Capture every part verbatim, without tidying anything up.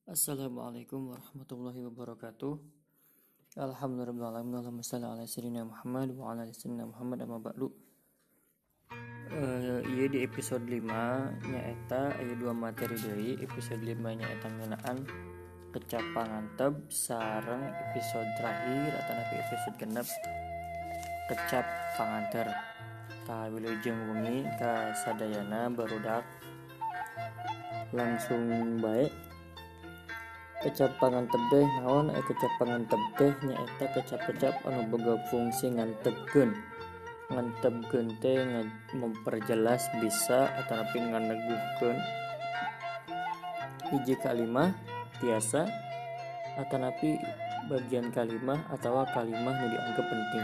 Assalamualaikum warahmatullahi wabarakatuh. Alhamdulillah, Allahumma shalli ala sayyidina Muhammad wa ala ali sayyidina Muhammad amma ba'du. Uh, iya di episode lima nyaeta aya dua materi deui. Episode lima nyaeta ngeunaan kecap panganteb sareng episode terakhir atau napi episode genep kecap panganter. Tah wilujeng wengi ka sadayana barudak langsung baik kecap panganteb teh naon aya kecap panganteb teh nyaeta kecap-kecap anu boga fungsi ngantebkeun ngantebkeun teh memperjelas bisa ataupun nganeguhkeun hiji kalimah tiasa atanapi bagian kalimah atau kalimah nu dianggap penting.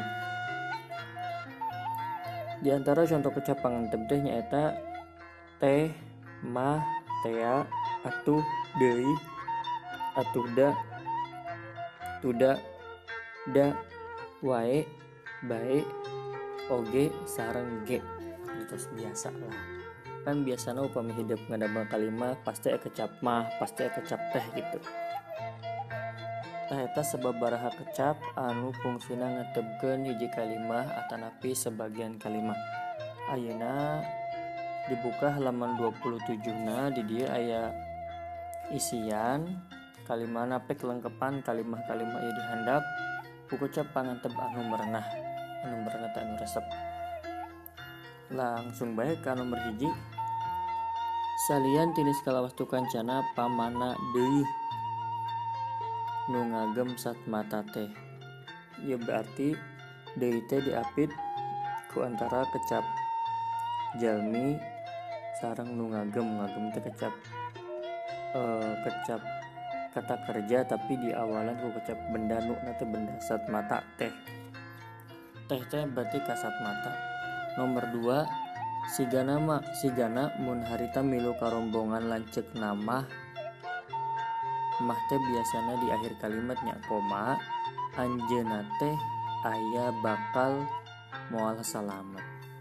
Di antara contoh kecap panganteb teh nyaeta teh, mah, tea, atuh, deui, atuh da, tuda, da, wae, bae, oge, sareng ge. Itu biasa lah. Kan biasana upami hidup ngadamel kalimah pasti aya kecap mah, pasti aya kecap teh gitu. Tah eta sababaraha kecap anu fungsina ngatebkeun hiji kalimah atanapi sebagian kalimah. Ayeuna dibuka halaman dua puluh tujuh na di dieu aya isian kalimahna pe kelengkepan kalimah-kalimah ieu dihandap ku kecap panganteb anu merenah anu merenah teh anu resep. Langsung bae ka nomor hiji. Salian tinis kalawastu kancana pamana deui nu ngagem satmata teh. Ieu berarti deui teh diapit ku antara kecap jalmi sareng nu ngagem ngagem teh kecap uh, kecap kata kerja tapi di awalan ku kecap benda nu na teh benda satmata teh. Teh teh berarti kasat mata. Nomor dua, sigana mah sigana mun harita milu karombongan lanceuk nama mah teh biasana di akhir kalimat nya koma anjeunna teh aya bakal moal salamet.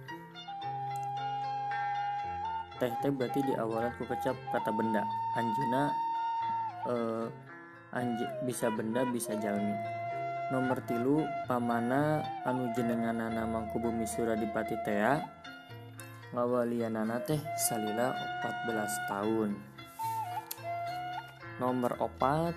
Teh teh berarti di awalan ku kecap kata benda. Anjeunna uh, anj bisa benda bisa jalmi. Nomor tilu, pamana anu jenenganana mangku bumi Suradipati tea ngawalianana teh salila opat belas tahun. Nomor opat,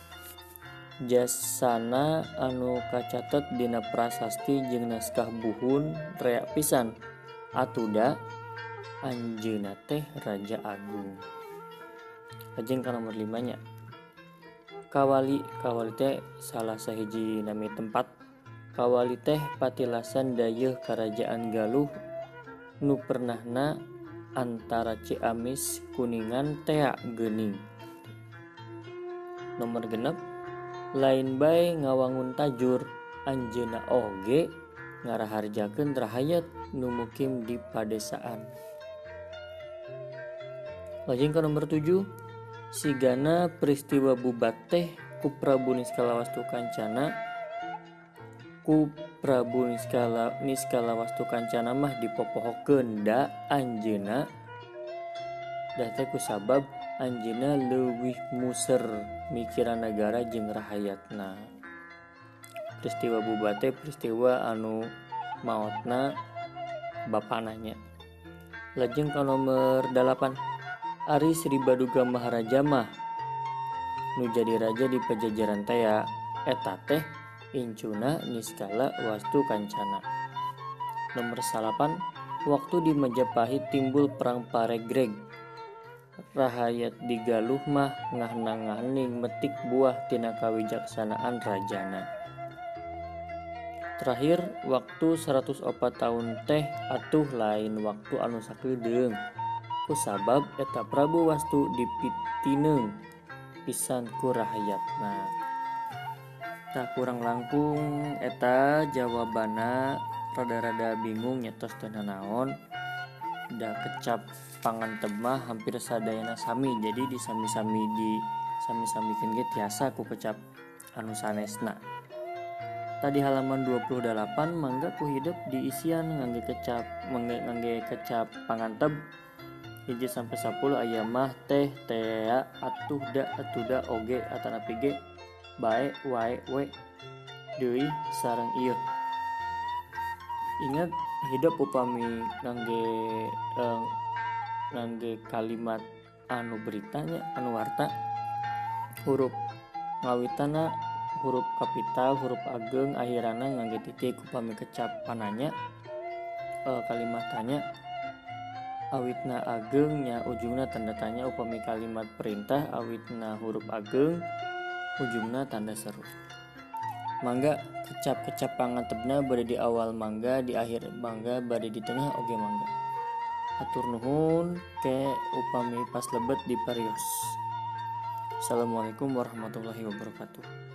jasana anu kacatet dina prasasti jeung naskah buhun rea pisan atuda anjeunna teh Raja Agung. Lajeng ka nomor lima nya. Kawali, kawali teh salah sahiji nami tempat. Kawali teh patilasan dayeuh Karajaan Galuh nu pernahna antara Ciamis Kuningan tea geuning. Nomor genep, lain bae ngawangun tajur anjeunna oge ngaraharjakeun rahayat nu mukim di padesaan. Lajeng ka nomor tujuh, sigana peristiwa bubat teh ku Prabu Niskalawastu Kancana ku Prabu Niskala Niskalawastu Kancana mah dipopohokeun da anjeunna da teh ku sabab anjeunna leuwih muser mikiran nagara jeung rahayatna. Peristiwa bubat teh peristiwa anu maotna bapana nya. Lajeng ka nomor dalapan, Ari Sri Baduga Maharaja mah nu jadi raja di Pajajaran tea eta teh incuna Niskala Wastu Kancana. Nomor salapan, waktu di Majapahit timbul perang Paregreg. Rahayat di Galuh mah ngahna-ngahning metik buah tina kawijaksanaan rajana. Terakhir, waktu seratus opat tahun teh atuh lain waktu anu sakeudeung. Kusabab eta Prabu Wastu dipitineung pisan ku rahayatna. Tah kurang langkung eta jawabana rada-rada bingung nyetos teh naon. Da kecap panganteb mah hampir sadayana sami, jadi di sami-sami di sami-samikeun ge tiasa ku kecap anu sanesna. Tadi halaman dua puluh delapan mangga ku hidup di isian ngangge kecap ngangge, ngangge kecap panganteb hiji sampai sepuluh aya mah teh tea atuh da atuh da oge atanapi ge bae wae we deui sareng ieu. Ingat hidup upami ngangge eh, ngangge kalimat anu beritanya anu warta huruf ngawitana huruf kapital huruf ageng akhirana ngangge titik upami kecapananya eh, kalimat tanya awitna agengnya ujungna tanda tanya upami kalimat perintah awitna huruf ageng ujungna tanda seru. Mangga kecap-kecap pangantepna bade di awal mangga di akhir mangga bade di tengah oge mangga. Atur nuhun ke upami pas lebet di parios. Assalamualaikum warahmatullahi wabarakatuh.